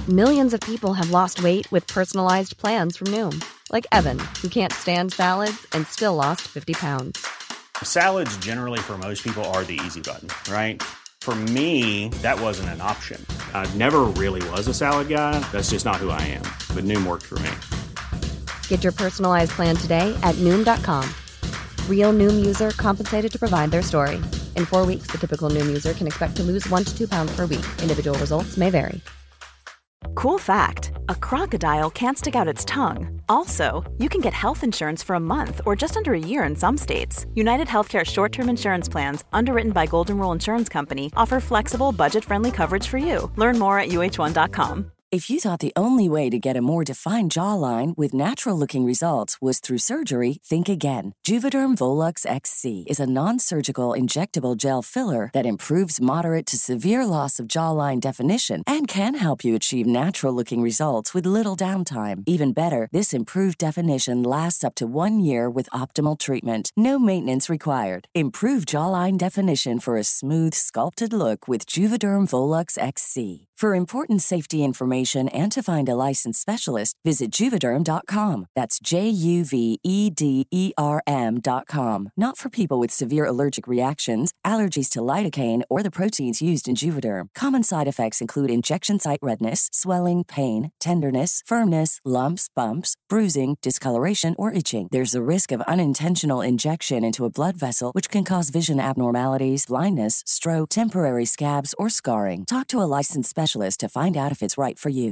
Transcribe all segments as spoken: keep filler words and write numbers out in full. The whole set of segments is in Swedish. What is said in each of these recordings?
Millions of people have lost weight with personalized plans from Noom. Like Evan, who can't stand salads and still lost fifty pounds. Salads generally for most people are the easy button, right? For me, that wasn't an option. I never really was a salad guy. That's just not who I am. But Noom worked for me. Get your personalized plan today at Noom dot com. Real Noom user compensated to provide their story. In four weeks, the typical Noom user can expect to lose one to two pounds per week. Individual results may vary. Cool fact, a crocodile can't stick out its tongue. Also, you can get health insurance for a month or just under a year in some states. United Healthcare short-term insurance plans, underwritten by Golden Rule Insurance Company, offer flexible, budget-friendly coverage for you. Learn more at U H one dot com. If you thought the only way to get a more defined jawline with natural-looking results was through surgery, think again. Juvederm Volux X C is a non-surgical injectable gel filler that improves moderate to severe loss of jawline definition and can help you achieve natural-looking results with little downtime. Even better, this improved definition lasts up to one year with optimal treatment. No maintenance required. Improve jawline definition for a smooth, sculpted look with Juvederm Volux X C. For important safety information and to find a licensed specialist, visit Juvederm dot com. That's J U V E D E R M dot com. Not for people with severe allergic reactions, allergies to lidocaine, or the proteins used in Juvederm. Common side effects include injection site redness, swelling, pain, tenderness, firmness, lumps, bumps, bruising, discoloration, or itching. There's a risk of unintentional injection into a blood vessel, which can cause vision abnormalities, blindness, stroke, temporary scabs, or scarring. Talk to a licensed specialist to find out if it's right for you.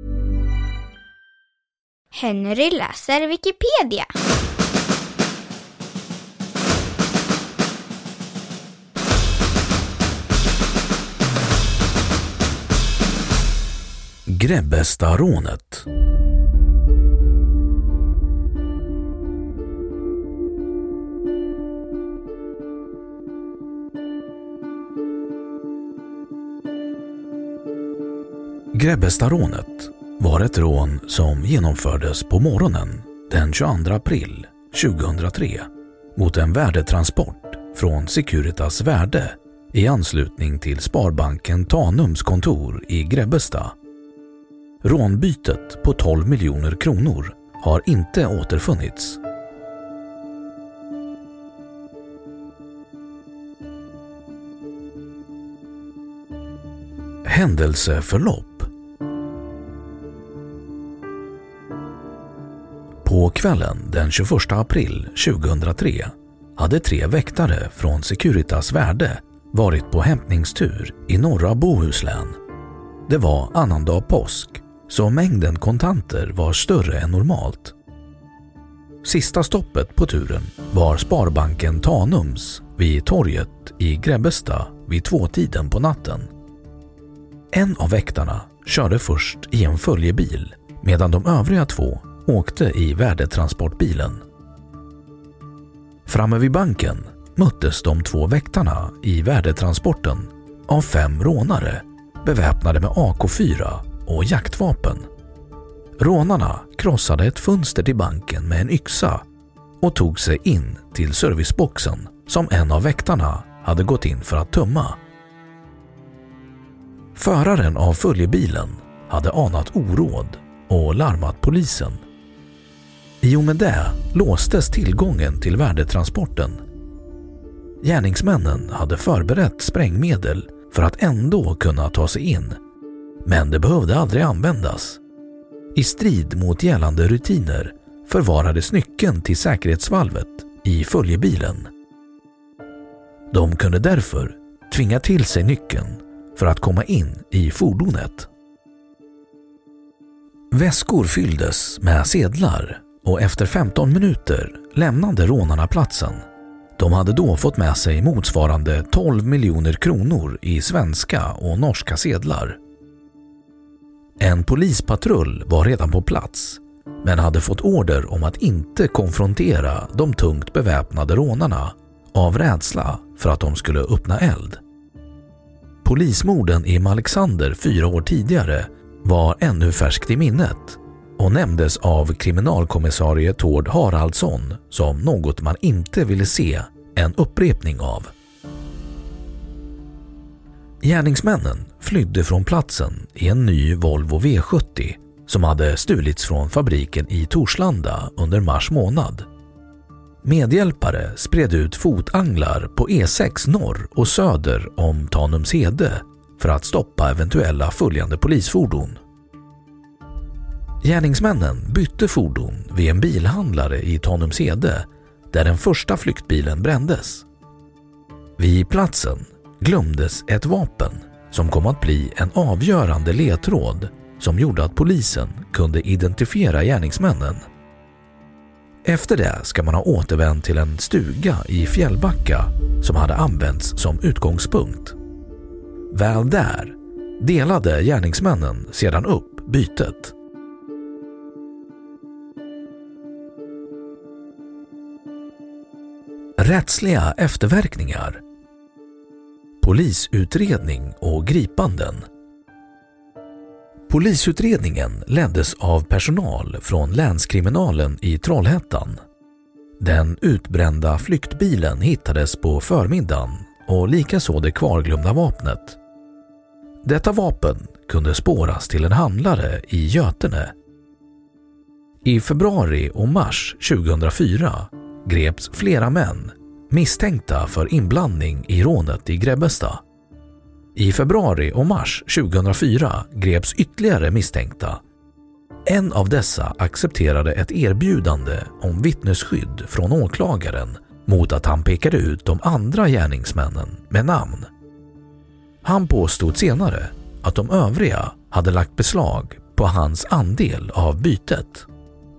Henry läser Wikipedia. Grebbestarånet. Grebbestarånet var ett rån som genomfördes på morgonen den tjugoandra april tjugohundratre mot en värdetransport från Securitas Värde i anslutning till Sparbanken Tanums kontor i Grebbestad. Rånbytet på tolv miljoner kronor har inte återfunnits. Händelseförlopp. På kvällen den tjugoförsta april tjugohundratre hade tre väktare från Securitas Värde varit på hämtningstur i norra Bohuslän. Det var annandag påsk, så mängden kontanter var större än normalt. Sista stoppet på turen var Sparbanken Tanums vid torget i Grebbestad vid tvåtiden på natten. En av väktarna körde först i en följebil medan de övriga två åkte i värdetransportbilen. Framme vid banken möttes de två väktarna i värdetransporten av fem rånare beväpnade med A K fyra och jaktvapen. Rånarna krossade ett fönster till banken med en yxa och tog sig in till serviceboxen som en av väktarna hade gått in för att tömma. Föraren av följebilen hade anat oråd och larmat polisen. I och med det låstes tillgången till värdetransporten. Gärningsmännen hade förberett sprängmedel för att ändå kunna ta sig in, men det behövde aldrig användas. I strid mot gällande rutiner förvarades nyckeln till säkerhetsvalvet i följebilen. De kunde därför tvinga till sig nyckeln för att komma in i fordonet. Väskor fylldes med sedlar och efter femton minuter lämnade rånarna platsen. De hade då fått med sig motsvarande tolv miljoner kronor i svenska och norska sedlar. En polispatrull var redan på plats, men hade fått order om att inte konfrontera de tungt beväpnade rånarna av rädsla för att de skulle öppna eld. Polismorden i Malexander fyra år tidigare var ännu färskt i minnet och nämndes av kriminalkommissarie Tord Haraldsson som något man inte ville se en upprepning av. Gärningsmännen flydde från platsen i en ny Volvo V sjuttio som hade stulits från fabriken i Torslanda under mars månad. Medhjälpare spred ut fotanglar på E sex norr och söder om Tanumshede för att stoppa eventuella följande polisfordon. Gärningsmännen bytte fordon vid en bilhandlare i Tanumshede där den första flyktbilen brändes. Vid platsen glömdes ett vapen som kom att bli en avgörande ledtråd som gjorde att polisen kunde identifiera gärningsmännen. Efter det ska man ha återvänt till en stuga i Fjällbacka som hade använts som utgångspunkt. Väl där delade gärningsmännen sedan upp bytet. Rättsliga efterverkningar. Polisutredning och gripanden. Polisutredningen leddes av personal från länskriminalen i Trollhättan. Den utbrända flyktbilen hittades på förmiddagen och likaså det kvarglömda vapnet. Detta vapen kunde spåras till en handlare i Götene. I februari och mars tjugohundrafyra greps flera män misstänkta för inblandning i rånet i Grebbestad. I februari och mars tjugohundrafyra greps ytterligare misstänkta. En av dessa accepterade ett erbjudande om vittnesskydd från åklagaren mot att han pekade ut de andra gärningsmännen med namn. Han påstod senare att de övriga hade lagt beslag på hans andel av bytet.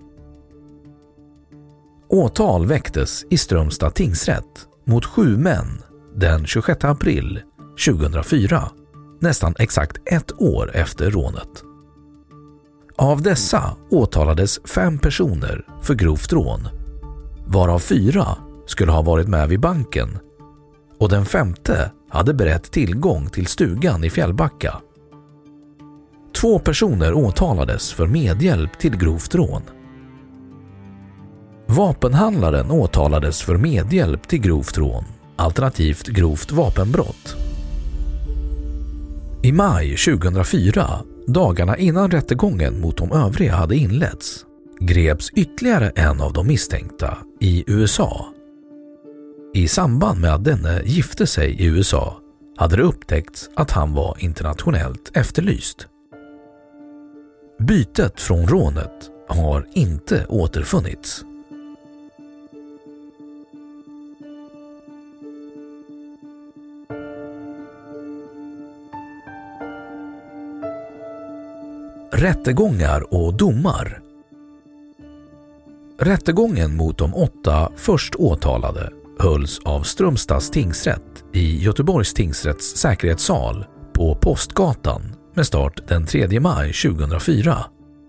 Åtal väcktes i Strömstad tingsrätt mot sju män den tjugosjätte april tjugohundrafyra, nästan exakt ett år efter rånet. Av dessa åtalades fem personer för grovt rån, varav fyra skulle ha varit med vid banken och den femte hade berett tillgång till stugan i Fjällbacka. Två personer åtalades för medhjälp till grovt rån. Vapenhandlaren åtalades för medhjälp till grovt rån, alternativt grovt vapenbrott. I maj tjugohundrafyra, dagarna innan rättegången mot de övriga hade inletts, greps ytterligare en av de misstänkta i U S A. I samband med att denne gifte sig i U S A hade det upptäckts att han var internationellt efterlyst. Bytet från rånet har inte återfunnits. Rättegångar och domar. Rättegången mot de åtta först åtalade hölls av Strömstads tingsrätt i Göteborgs tingsrätts säkerhetssal på Postgatan med start den tredje maj tjugohundrafyra.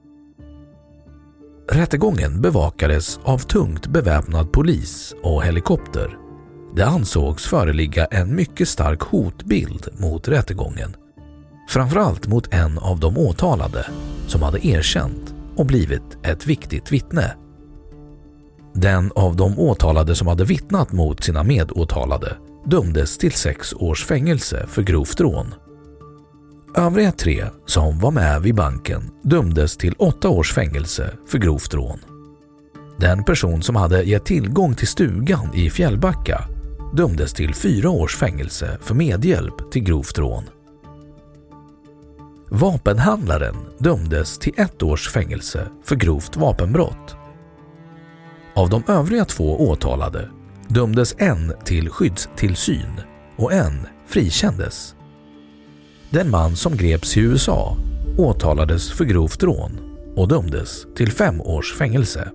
Rättegången bevakades av tungt beväpnad polis och helikopter. Det ansågs föreligga en mycket stark hotbild mot rättegången. Framförallt mot en av de åtalade som hade erkänt och blivit ett viktigt vittne. Den av de åtalade som hade vittnat mot sina medåtalade dömdes till sex års fängelse för grovt rån. Övriga tre som var med vid banken dömdes till åtta års fängelse för grovt rån. Den person som hade gett tillgång till stugan i Fjällbacka dömdes till fyra års fängelse för medhjälp till grovt rån. Vapenhandlaren dömdes till ett års fängelse för grovt vapenbrott. Av de övriga två åtalade dömdes en till skyddstillsyn och en frikändes. Den man som greps i U S A åtalades för grovt rån och dömdes till fem års fängelse.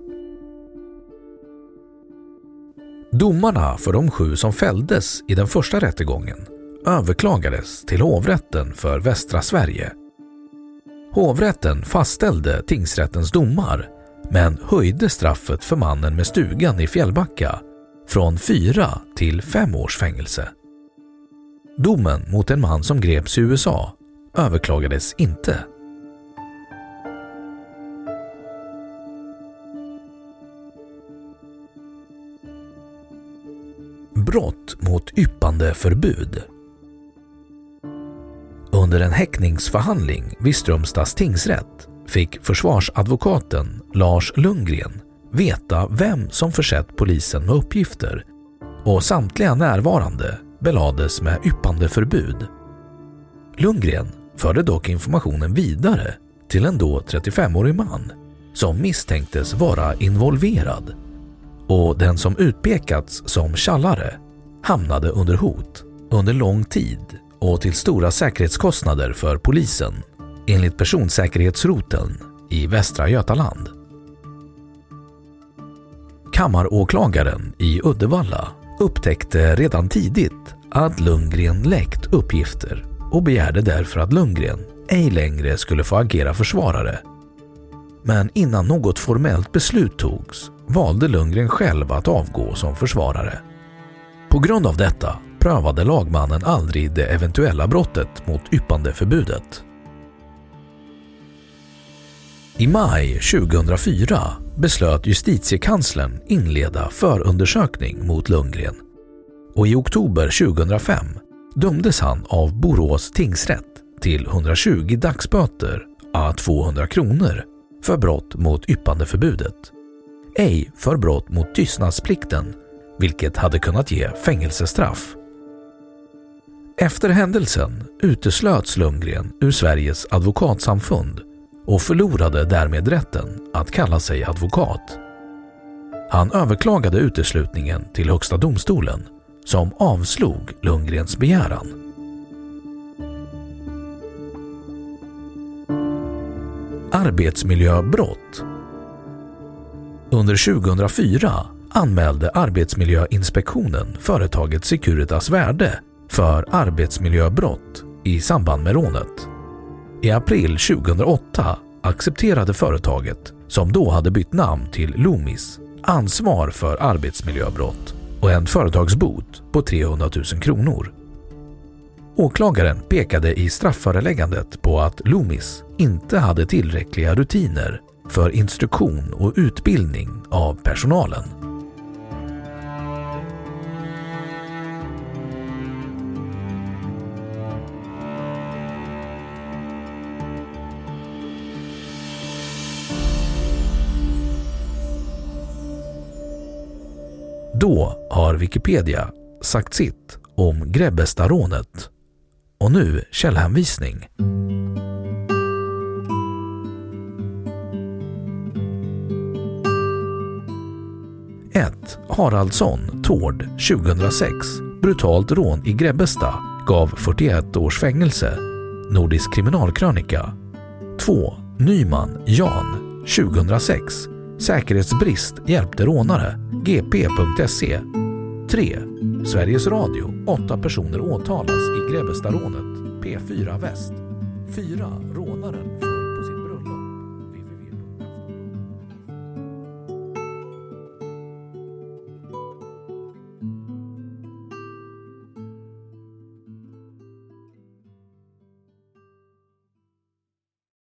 Domarna för de sju som fälldes i den första rättegången överklagades till hovrätten för Västra Sverige. Hovrätten fastställde tingsrättens domar men höjde straffet för mannen med stugan i Fjällbacka från fyra till fem års fängelse. Domen mot en man som greps i U S A överklagades inte. Brott mot yppande förbud. Under en häktningsförhandling vid Strömstads tingsrätt fick försvarsadvokaten Lars Lundgren veta vem som försett polisen med uppgifter, och samtliga närvarande belades med yppande förbud. Lundgren förde dock informationen vidare till en då trettiofemårig man som misstänktes vara involverad, och den som utpekats som tjallare hamnade under hot under lång tid och till stora säkerhetskostnader för polisen enligt personsäkerhetsroteln i Västra Götaland. Kammaråklagaren i Uddevalla upptäckte redan tidigt att Lundgren läckt uppgifter och begärde därför att Lundgren ej längre skulle få agera försvarare. Men innan något formellt beslut togs valde Lundgren själv att avgå som försvarare. På grund av detta prövade lagmannen aldrig det eventuella brottet mot yppandeförbudet. I maj tjugohundrafyra beslöt justitiekanslern inleda förundersökning mot Lundgren, och i oktober tjugohundrafem dömdes han av Borås tingsrätt till hundratjugo dagsböter à tvåhundra kronor för brott mot yppandeförbudet, ej för brott mot tystnadsplikten, vilket hade kunnat ge fängelsestraff. Efter händelsen uteslöts Lundgren ur Sveriges advokatsamfund och förlorade därmed rätten att kalla sig advokat. Han överklagade uteslutningen till Högsta domstolen, som avslog Lundgrens begäran. Arbetsmiljöbrott. Under tjugohundrafyra anmälde Arbetsmiljöinspektionen företaget Securitas Värde för arbetsmiljöbrott i samband med rånet. I april tjugohundraåtta accepterade företaget, som då hade bytt namn till Loomis, ansvar för arbetsmiljöbrott och en företagsbot på trehundratusen kronor. Åklagaren pekade i strafföreläggandet på att Loomis inte hade tillräckliga rutiner för instruktion och utbildning av personalen. Då har Wikipedia sagt sitt om Grebbestarånet. Och nu källhänvisning. ett. Haraldsson, Tord, tjugohundrasex. Brutalt rån i Grebbestad gav fyrtioett års fängelse. Nordisk kriminalkrönika. två. Nyman, Jan, tjugohundrasex. Säkerhetsbrist hjälpte rånare. G P punkt se. tre. Sveriges Radio. Åtta personer åtalas i Grebbestarånet. P fyra Väst. fyra. Rånaren